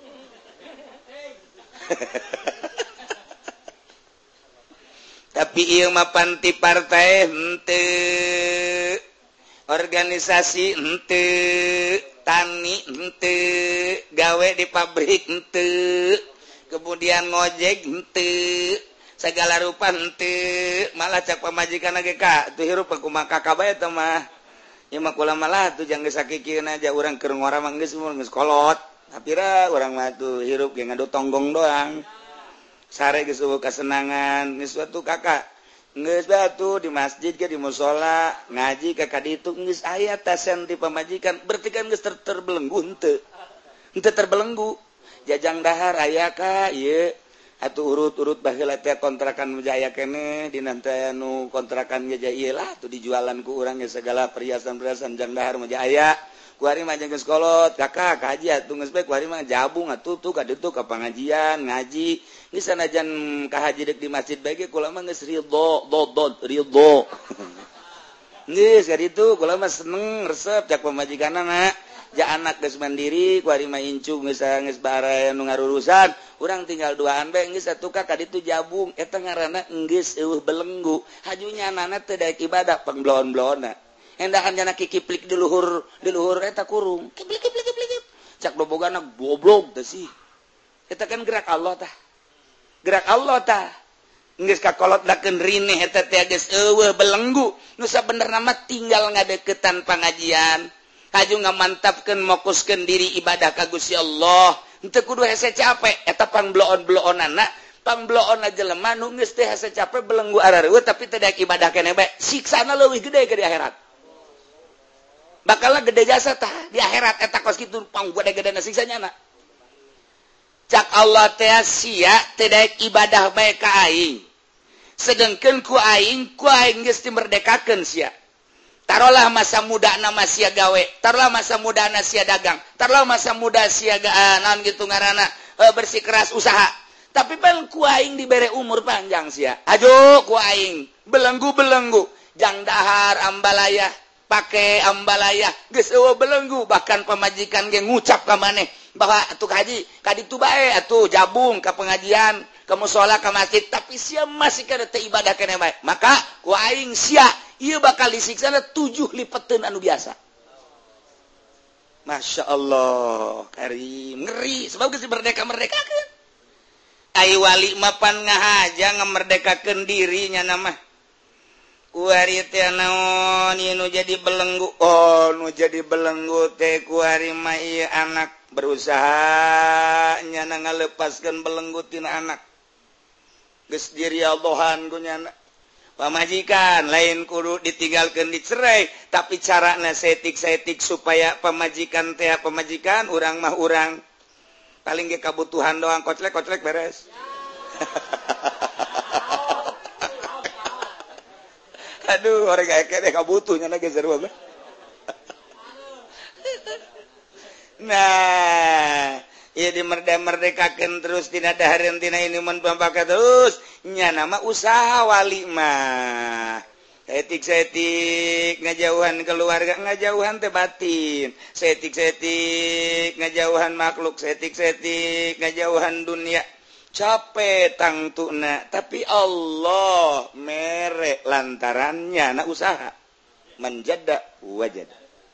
tapi ieu mah panti partai henteu organisasi henteu tani henteu gawe di pabrik henteu kemudian ngojek henteu segala rupa henteu malah cak pamajikan ge ka tuh hirup kumaha kakak eta mah ieu mah kula malah tuh jang geus sakikieun aja urang keur ngora mah geus geus kolot tapira urang mah tuh hirup ge ngadu tonggong doang sare geus eueuh kasenangan geus atuh kakak geus batu di masjid ke di mushola ngaji ka kaditu geus aya tasen di pamajikan berarti kan geus ter terbelenggu henteu henteu terbelenggu jajang dahar aya ka ieu atuh urut-urut baheula teh kontrakan Jaya keneh dina teh anu kontrakan Jaya ieu lah tuh dijualan ku urang ge segala perhiasan-perhiasan jang dahar mah aya kuari mah geus kolot kakak kaji atuh geus bae kuari mah jabung atuh tuh ka ditu ka pangajian ngaji geus sanajan ka haji dek di masjid bae ge kula mah geus ridho dodod ridho geus ka ditu kula mah seneng resep cak pamajikanna ja anak geus mandiri kuari mah incu geus geus bare nu ngarurusan urang tinggal duaan bae geus atuh ka ditu jabung eta ngaranna geus eueuh belenggu hajunya anana teu daek ibadah pangblon-blonna endahan jana kikiplik di luhur di luhur eta kurung kiplik kiplik kiplik cak bobogana goblok teh sih eta kan gerak Allah tah gerak Allah tah geus kakolot dakeun rineh eta teh geus eueuh belenggu nu sabenerna mah tinggal ngadeukeutan pangajian haju ngamantapkeun mokuskeun diri ibadah ka Gusti Allah henteu kudu hese capek eta pangbloon-bloonana pangbloonna jelema nu geus teh hese capek belenggu arareueuh tapi teu daek ibadah keneh bae siksana leuwih gede ke di akhirat bakalna gede jasa tah di akhirat eta kos kitu pang gede-gedena siksanya na cak Allah teh sia tidak ibadah bae ka aing sedengkeun ku aing ku aing geus dimerdekakeun sia taruhlah masa muda nama sia gawe taruhlah masa muda na sia dagang taruhlah masa muda sia uh, naon gitu ngaranna uh, bersikeras usaha tapi pan ku aing dibere umur panjang sia ajo ku aing belenggu-belenggu jang dahar ambalaya pake ambalaya geus eueuh belenggu bahkan pamajikan ge ngucap ka maneh bahwa atuh haji ka ditu bae atuh jabung ka pengajian ka mushola ka masjid tapi sia masih kada teu ibadah keneh bae maka ku aing sia ieu bakal disiksana tujuh lipeteun anu biasa. Masya Allah karim ngeri sebab geus merdeka-merdekakeun ai wali mapan ngahaja ngamerdekakeun dirinya nama kuari teh naon ieu nu jadi belenggu oh nu jadi belenggu teh kuari mah ieu anak berusaha nyana ngalepaskeun belenggu tina anak geus dirialdohan ku nyana pamajikan lain kudu ditinggalkeun dicerai tapi carana setik-setik supaya pamajikan teh pamajikan urang mah urang paling ge kabutuhan doang koclek-koclek beres aduh orang kayak kayak kabutuh nyana ge seru apa nah iya dimerdeka-merdekakeun terus tina dahareun tina ini mun pampaka terus nya nama usaha wali mah setik-setik ngajauhan keluarga ngajauhan teh batin setik-setik ngajauhan makhluk setik-setik ngajauhan dunia capek tangtuna tapi Allah mere lantarannya na usaha menjada wajad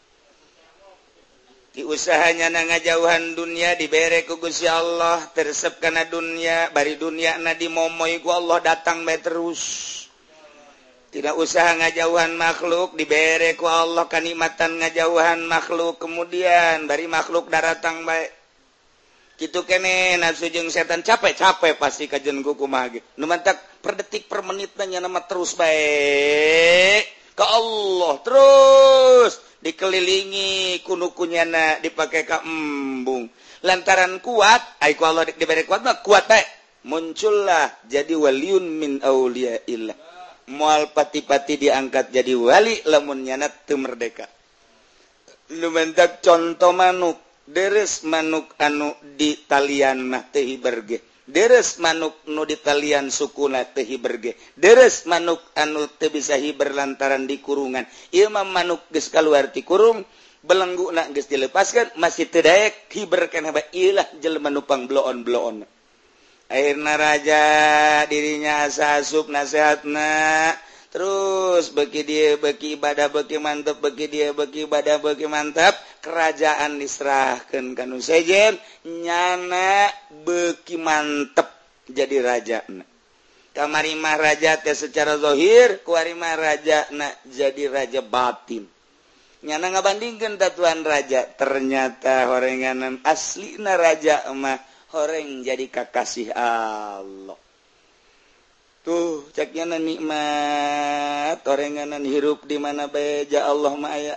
di usahanya na ngajauhan dunia dibere ku Gusti Allah tersep kana dunia bari dunia na dimomoy ku Allah datang bae terus tidak usaha ngajauhan makhluk dibere ku Allah kanikmatan ngajauhan makhluk kemudian bari makhluk daratang bae kitu kene nafsu jeung setan capek-capek pasti kajen ku kumaha ge nu mantak per detik per menitna nya nama terus bae ka Allah terus dikelilingi kunukunyana dipake ka embung lantaran kuat ai ku Allah dibere kuat mah kuat bae muncullah jadi waliun min auliyaillah moal pati-pati diangkat jadi wali lamun nyana teu merdeka lumentak contoh manuk deres manuk anu di talian mah teu hiberge deres manuk nu di talian sukuna teu hiberge deres manuk anu teu bisa hiber lantaran di kurungan ieu mah manuk geus kaluar ti kurung belengguna geus dilepaskeun masih teu daek hiber keneh bae ieulah jelema nu pangbloon-bloon akhirna raja dirinya asa asup nasehatna terus bagi dia bagi ibadah bagi mantap bagi dia bagi ibadah bagi mantap kerajaan diserahkeun ka nu sejen nyana beki mantep jadi raja kamari mah raja teh secara zahir kuari mah raja na jadi raja batin nyana ngabandingkeun tatuan raja ternyata horenganan aslina raja mah horeng jadi kakasih Allah tuh caknya nikmat orenganan hirup di mana bae ja Allah mah aya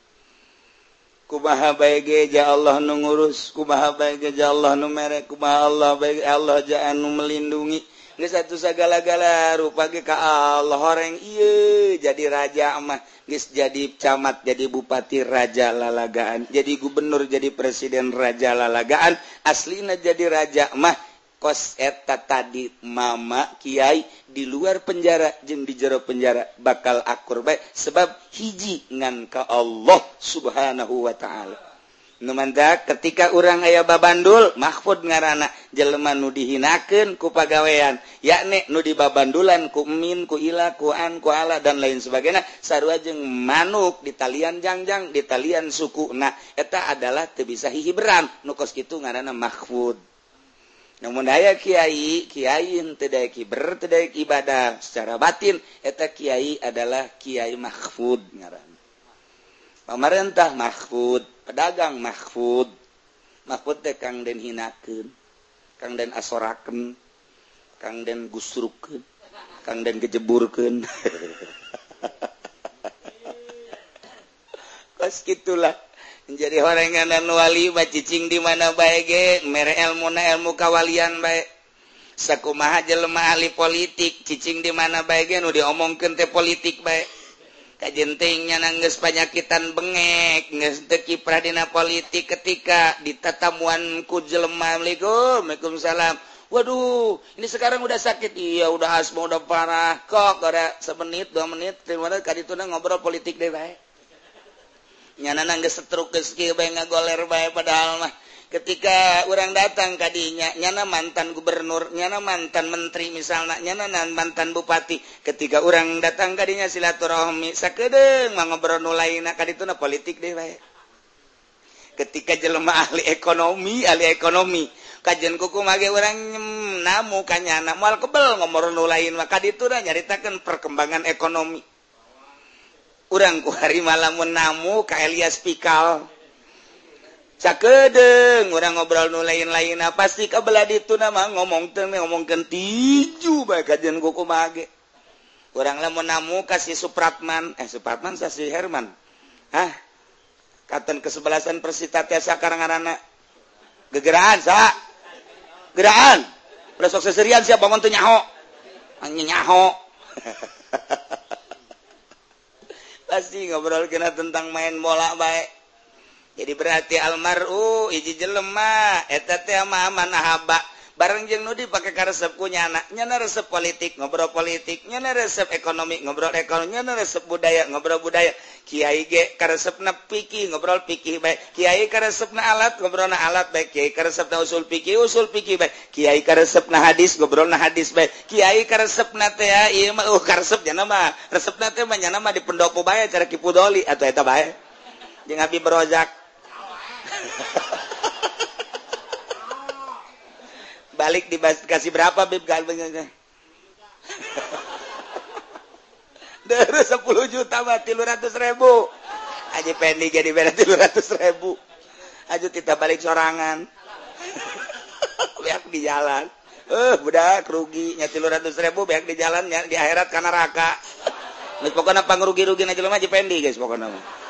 kumaha bae ge ja Allah nu ngurus kumaha bae ge ja Allah nu mere kumaha Allah bae Allah ja anu melindungi geus atuh sagala-gala rupa ge ka Allah horeng ieu jadi raja mah geus jadi camat jadi bupati raja lalagaan jadi gubernur jadi presiden raja lalagaan aslina jadi raja mah kos eta tadi mama kiai di luar penjara jeung di jero penjara bakal akur bae sebab hiji ngan ka Allah subhanahu wa ta'ala nu mantak ketika urang aya babandul mahfud ngaranna jelema nu dihinakeun ku pagawean yakni nu dibabandulan ku min ku ila ku an ku ala dan lain sebagainya sarua jeung manuk di talian jangjang di talian sukuna eta adalah teu bisa hihiberan nu kos kitu ngaranna mahfud. Namun aya kiai, kiai teu daek hiber, teu daek ibadah secara batin, eta kiai adalah kiai mahfud ngaranna. Pamarentah mahfud, pedagang mahfud. Mahfud teh kang den hinakeun, kang den asorakeun, kang den gusrukeun, kang den gejeburkeun. Kos kitulah menjadi horengan dan wali cicing di mana baik mere ilmu na ilmu kawalian baik sakumaha jelema ahli politik cicing di mana baik nu diomongkeun teh politik baik kajentingnya nanggeus panyakitan bengek geus teu kiprah dina politik ketika ditatamuan ku jelema Assalamualaikum Waalaikumsalam waduh ini sekarang udah sakit iya udah asma udah parah kok ada semenit dua menit terima kadituna ngobrol politik deh baik nyana nanggeus setruk geus kieu bae ngagoler bae padahal mah ketika orang datang kadinya nyana mantan gubernur nyana mantan menteri misalnya nyana mantan bupati ketika orang datang kadinya silaturahmi sakedeung mah ngobrol nu lainna kadituna politik deh bae ketika jelema ahli ekonomi ahli ekonomi kajian kuku mage orang namu kanyana moal kebel ngomor nu lain mah kadituna nyaritakeun perkembangan ekonomi urang ku hari malamun namu ka Elias Pikal sakedeung urang ngobrol nu lain-lain pasti kabelah ditu nama ngomong teh ngomongkeun tiju bae kajian kuku mage urang lamun namu ka si Supratman eh Supratman sa si Herman hah katen kesebelasan Persita tiasa karanganana gegeraan sa geraan udah sok seserian siap bangun tuh nyaho anjing nyaho pasti ngobrol kena tentang main bola baik jadi berarti almar'u hiji jelema eta teh mah amanah haba bareng jeung nu dipake ka resep ku nyana nyana resep politik ngobrol politik nyana resep ekonomi ngobrol ekonomi nyana resep budaya ngobrol budaya kiai ge ka resepna fikih ngobrol fikih bae kiai ka resepna alat ngobrolna alat bae kiai ka resepna usul fikih usul fikih bae kiai ka resepna hadis ngobrolna hadis bae kiai ka resepna teh ieu mah uh ka resep nyana mah resepna teh mah nyana mah di pendopo bae cara Kipu Doli atuh eta bae jeung Habib Rozak balik dikasih berapa Bib galbengnya dari sepuluh juta mah tiga ratus ribu aja pending jadi beda tiga ratus ribu aja kita balik sorangan biak di jalan eh budak rugi nya tiga ratus ribu biak di jalan di akhirat kana neraka geus pokona pangrugi-rugi na jelema aja pending guys pokona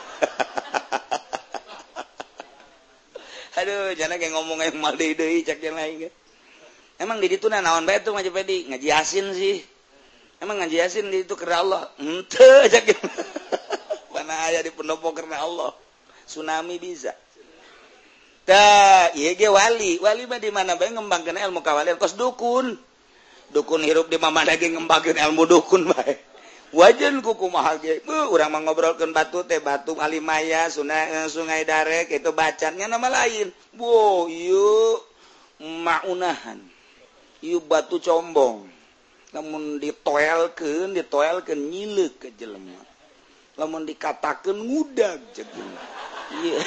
aduh jangan kayak ngomong yang mal deui cek yang lain guys. Emang di situ naon bae tuh ngaji pedi ngaji yasin sih. Emang ngaji yasin di itu karena Allah. Henteu aja gitu. Mana aya di pendopo karena Allah. Tsunami bisa. Tah, ieu ge wali. Wali mah di mana bae ngembangkeun ilmu kawalian kos dukun. Dukun hirup di mana ge ngembangkeun ilmu dukun bae. Wajan ku kumaha ge. Beuh urang mah ngobrolkeun batu teh batu alimaya, sungai sungai darek itu bacannya nama lain. Wo, ieu maunahan. Ieu batu combong lamun ditoelkeun ditoelkeun nyileuk ke jelema lamun dikatakeun ngudag ceuk ieu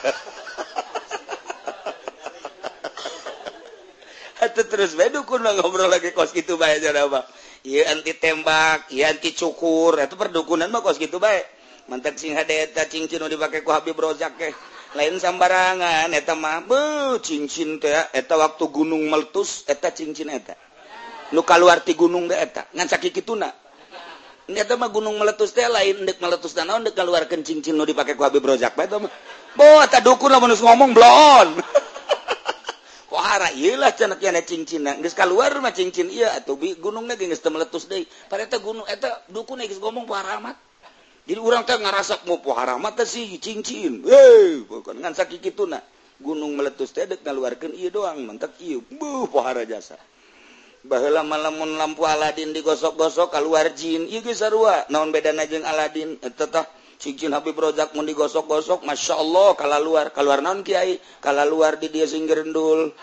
atuh terus bae dukun mah ngobrol lagi kos kitu bae cenah mah ieu anti tembak ieu anti cukur eta perdukunan mah kos kitu bae mantek sing hade eta cincin nu dipake ku Habib Rozak teh lain sambarangan eta mah beuh cincin teh eta waktu gunung meletus eta cincin eta nu kaluar ti gunung teh eta ngan sakikituna eta mah gunung meletus teh lain deuk meletus dan naon deuk kaluarkeun cincin nu dipake ku Habib Rozak bae eta mah boh eta dukun lamun ngomong blon pohara ieu lah cenah kiana cincinna geus kaluar mah cincin ieu atuh gunungna ge geus teu meletus deui pareta gunung eta dukun geus ngomong pohara amat. Jadi orang teh ngarasak mau pohara mah teh sih cincin. Hei, bukan ngan sakikituna. Gunung meletus teh deuk ngaluarkeun ieu doang, mentek ieu. Buh, pohara jasa. Baheula malamun lampu Aladin digosok-gosok kaluar jin, ieu ge sarua. Naon bedana jeung Aladin? Eta tah cincin Habib Rozak mun digosok-gosok, masyaallah kalaluar. Kaluar naon kiai? Kalaluar di dieu sing gerendul.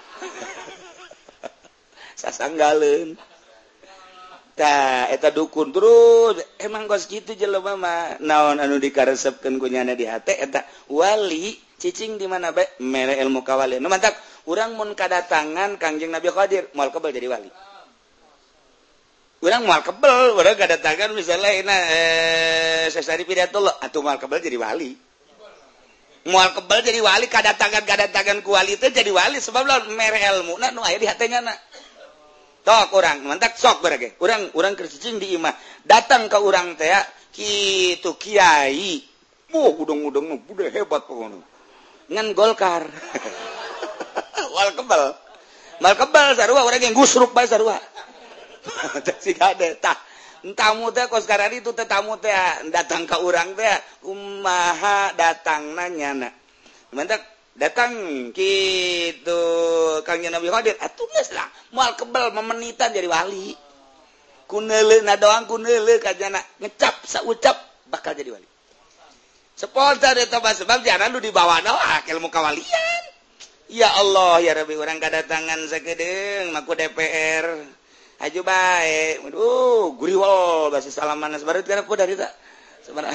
Sasanggaleun. Tah eta dukun terus emang kos kitu jelema mah naon anu dikaresepkeun ku nyana di hate eta wali cicing di mana bae mere ilmu kawalian nu mantap urang mun kadatangan Kangjeng Nabi Khadir moal kebal jadi wali urang moal kebal urang kadatangan misalnya ina eh sesari pidatullah atuh moal kebal jadi wali moal kebal jadi wali kadatangan-kadatangan ku wali teh jadi wali sebab lawan mere ilmu na nu aya di hate nyana tok urang mantak sok barage urang urang keur cicing di imah datang ka urang teh kitu kiai oh udang-udang nu budak hebat pokona ngan Golkar. Wal kebal. Mal kebal sarua orang yang gusruk bae sarua. Si kade tah tamu teh kos karari itu teh tamu teh datang ka urang teh kumaha datangna nyana. Mantak datang kitu Kang Nabi Khadir atuh geus lah moal kebal memenitan jadi wali. Kuneuleuna doang kuneuleu kajana ngecap saucap bakal jadi wali. Spontan eta sebab jaran nu dibawa doa ilmu kawalian. Ya Allah ya Rabbi urang kadatangan sakedeung maku D P R. Aju bae. Waduh, guriwol basa salaman sabareut kana ku dari ta. Sabaraha.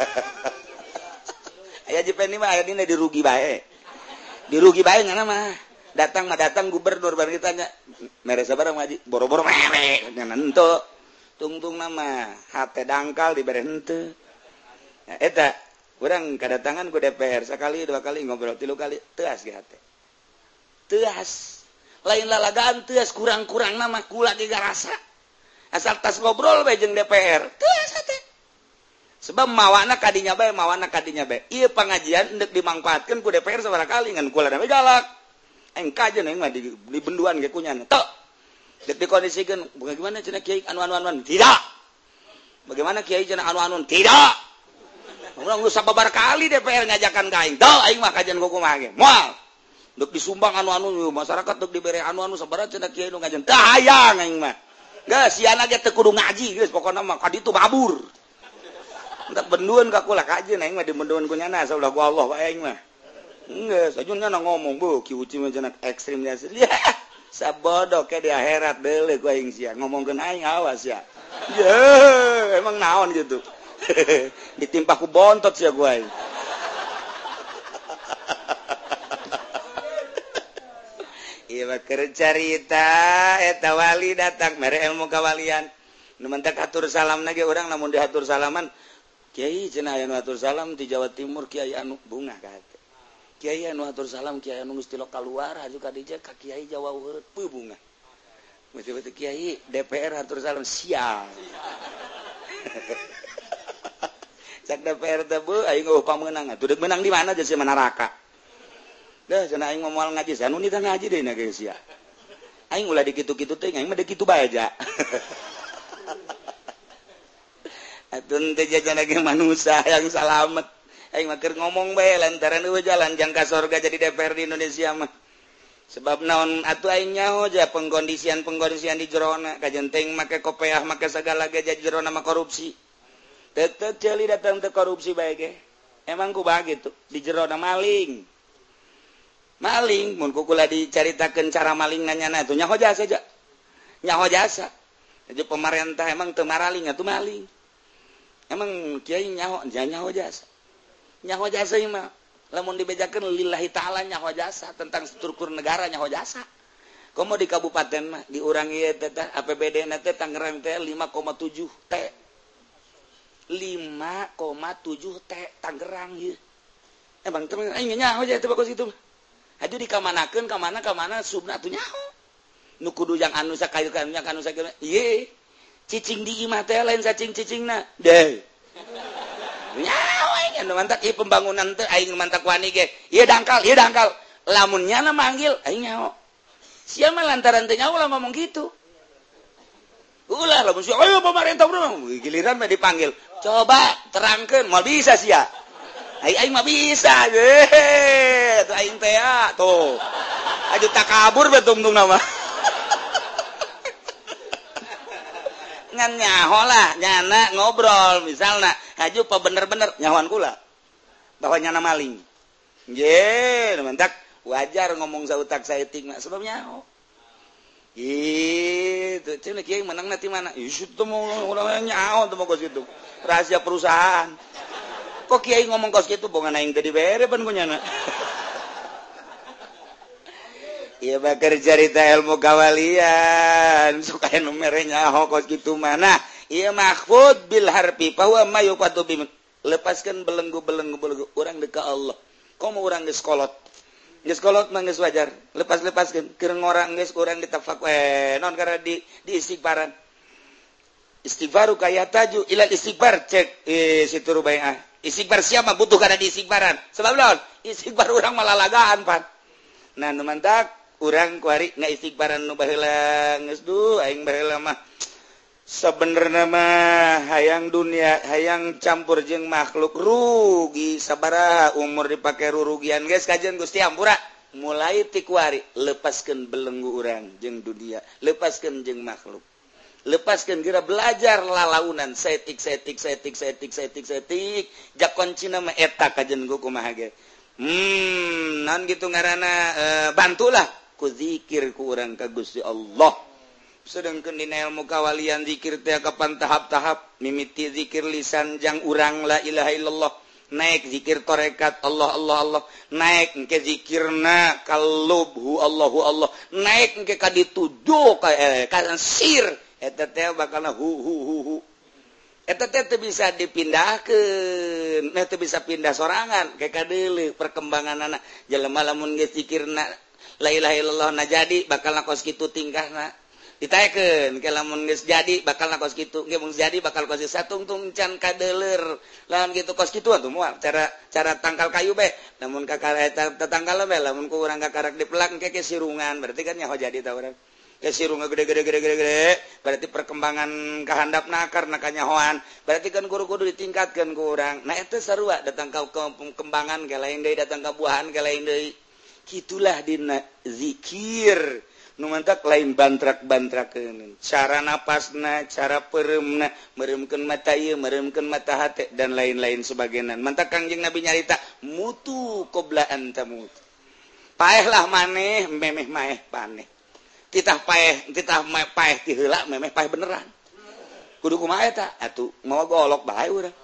Aya jepeni mah aya dina dirugi bae. Dirugi bae ngana mah. Datang mah datang gubernur bari ditanya, mere sabaraha ngaji? Boro-boro mere. Ngana henteu. Tungtung nama hate dangkal dibere henteu. Nah, eta urang kadatangan ku D P R sakali dua kali ngobrol tilu kali teu as ge hate. Teas lain lalagaan teas kurang-kurang nama kula ge garasa asal tas ngobrol bae jeung D P R teas hate sebab mawana kadinya bae mawana kadinya bae ieu pangajian endek dimangpaatkeun ku D P R sabaraha kali ngan kula na galak engka aja nih mah di, di benduan ge kunyan tok dek dikondisikeun bagaimana cenah kiai anu-anu tidak bagaimana kiai cenah anu-anu tidak urang geus sababar kali D P R ngajakan ka aing teu aing mah kajian kumaha ge moal duk disumbang anu-anu masyarakat duk dibere anu-anu sabaraha cenah kiai nu ngajian tah hayang aing mah geus siana ge teu kudu ngaji geus pokona mah ka ditu babur entak bendueun ka kula kajeun aing mah dibendueun ku nyana saeulah ku Allah wae aing mah geus ajun nyana ngomong beuh ki uci mah cenah ekstrim ya sabodo ke di akhirat deuleu ku aing sia ngomongkeun aing awas ya ye emang naon gitu ditimpa ku bontot sia ku aing iya keur carita eta wali datang mere ilmu kawalian nu mentak atur salam ge urang lamun diatur salaman kiai cenah aya nu atur salam di Jawa Timur kiai anu bunga ka hate kiai anu atur salam kiai anu geus ti lokal luar aju ka dieu ka kiai Jawa heureut bunga betul-betul kiai D P R atur salam sial cak D P R teh beuh aing eueuh pamenang atuh deuk menang di mana jeung si manaraka dah cenah aing moal ngaji sanu nita ngaji deui na geus ya aing ulah dikitu-kitu teh aing mah deuk kitu bae aja atun teh jajan lagi manusia yang salamet aing mah keur ngomong bae lantaran eueuh jalan jang ka sorga jadi D P R di Indonesia mah sebab naon atuh aing nyaho aja pengkondisian-pengkondisian di jerona kajenteng make kopeah make sagala ge jadi jerona mah korupsi tetep celi datang teh korupsi bae ge emang kumaha gitu di jerona maling maling mun kukula dicaritakeun cara maling nanyana atuh nyaho jasa aja nyaho jasa jadi pemerintah emang teu maraling atuh maling emang kiai nyaho nyaho jasa nyaho jasa ieu mah lamun dibejakeun lillahi taala nyaho jasa tentang struktur negara nyaho jasa komo di kabupaten mah di urang ieu teh A P B D na teh Tangerang teh lima koma tujuh T lima koma tujuh T Tangerang ieu emang teh aing nyaho jasa teh bagus kitu aju dikamanakeun ka mana ka mana subna atuh nyaho nu kudu yang anu sakayu kanunya kanu sakieu ieu cicing di imah teh lain cacing cicingna deh nyaho aing anu mantak ieu pembangunan teh aing mantak wani ge ieu dangkal ieu dangkal lamun nyana manggil aing nyaho sia mah lantaran teh nyaho lah ngomong gitu ulah lamun sia ayo pemerintah bro giliran mah dipanggil coba terangkeun moal bisa sia aing aing mah bisa ge tuh aing teh tuh aju takabur betung-tung nama ngan nyaho lah nyana ngobrol misalna aju pa bener-bener nyahoan kula bahwa nyana maling ye mentak wajar ngomong sautak saeutik mah sebab nyaho gitu cenah kieu menang nanti mana ieu teh mau urang nyaho teh mah kitu rahasia perusahaan kok kiai ngomong kos gitu bongan aing teh dibere pan kunyana ieu mah keur carita ilmu kawalian sok aya nu mere nyaho kos kitu mana ieu mahfud bil harfi fa huwa ma yuqadu bi lepaskeun belenggu-belenggu belenggu urang deuk ka Allah komo urang geus kolot geus kolot mah geus wajar lepas-lepaskeun keur ngorang geus urang ditafak we non karena di di istighfaran istighfaru kayataju ilal istighfar cek eh situ rubaiah istighfar siapa butuh kada diistighfaran sebab naon istighbar urang malah lagaan pan nah nu mantak urang kuari ngaistighbaran nu baheula geus duh aing baheula mah sebenarnya mah hayang dunia hayang campur jeung makhluk rugi sabaraha umur dipake rurugian guys kajian Gusti Ampura mulai ti kuari lepaskeun belenggu urang jeung dunia lepaskeun jeung makhluk lepaskeun geura belajar lalaunan setik setik setik setik setik setik jak kuncina mah eta kajian ku kumaha ge hmm naon kitu ngaranna e, bantulah ku zikir ku urang ka Gusti Allah sedangkan dina ilmu kawalian zikir teh kapan tahap-tahap mimiti zikir lisan jang urang la ilaha illallah naik zikir tarekat Allah Allah Allah naik engke zikirna kalubhu Allahu Allah naik engke ka dituju ka eh, ka sir eta teh bakalna hu hu hu hu eta teh teu bisa dipindahkeun nah teu bisa pindah sorangan kayak kadeuleu perkembanganna jelema lamun geus zikirna la ilaha illallah na jadi bakal kos kitu tingkahna ditaekeun ke lamun geus jadi bakal kos kitu ge mun jadi bakal kos satungtung can kadeuler lamun kitu kos kitu atuh moal cara cara tangkal kayu be lamun kakara eta tetangkal be lamun ku urang kakarak dipelak engke ke sirungan berarti kan nyaho jadi ta urang ke sirungan gede-gede gede-gede gede berarti perkembangan kahandapna karena kanyahoan berarti kan kudu-kudu ditingkatkeun ku urang nah eta sarua datang ka kembangan ke lain deui datang ka buahan ke lain deui kitulah dina zikir nu mantak lain bantrak-bantrakeun cara napasna cara pereumna meremkeun mata ieu meremkeun mata hate dan lain-lain sebagainya mantak Kangjeng Nabi nyarita mutu qabla an tamut paehlah maneh memeh maeh paneh titah paeh titah paeh ti heula memeh paeh beneran kudu kumaha eta atuh mau golok bae urang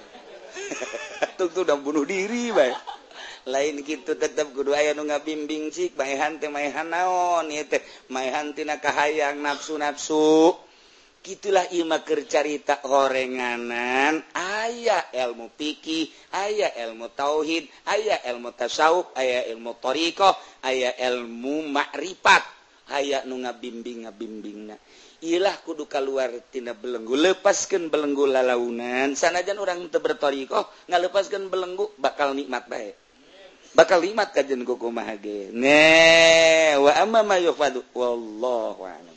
atuh tuh udah bunuh diri bae lain gitu tetap kudu aya nu ngabimbing cik maehan teh maehan naon ieu teh maehan tina kahayang nafsu-nafsu gitulah ieu mah keur carita horenganan aya ilmu fikih aya ilmu tauhid aya ilmu tasawuf aya ilmu thariqah aya ilmu makrifat aya nu ngabimbing ngabimbingna ieulah kudu kaluar tina belenggu lepaskeun belenggu lalaunan sanajan urang teu berthariqah ngalepaskeun belenggu bakal nikmat bae bakal limat kajen kumaha ge ne wa amma ma yufadu wallahu a'lam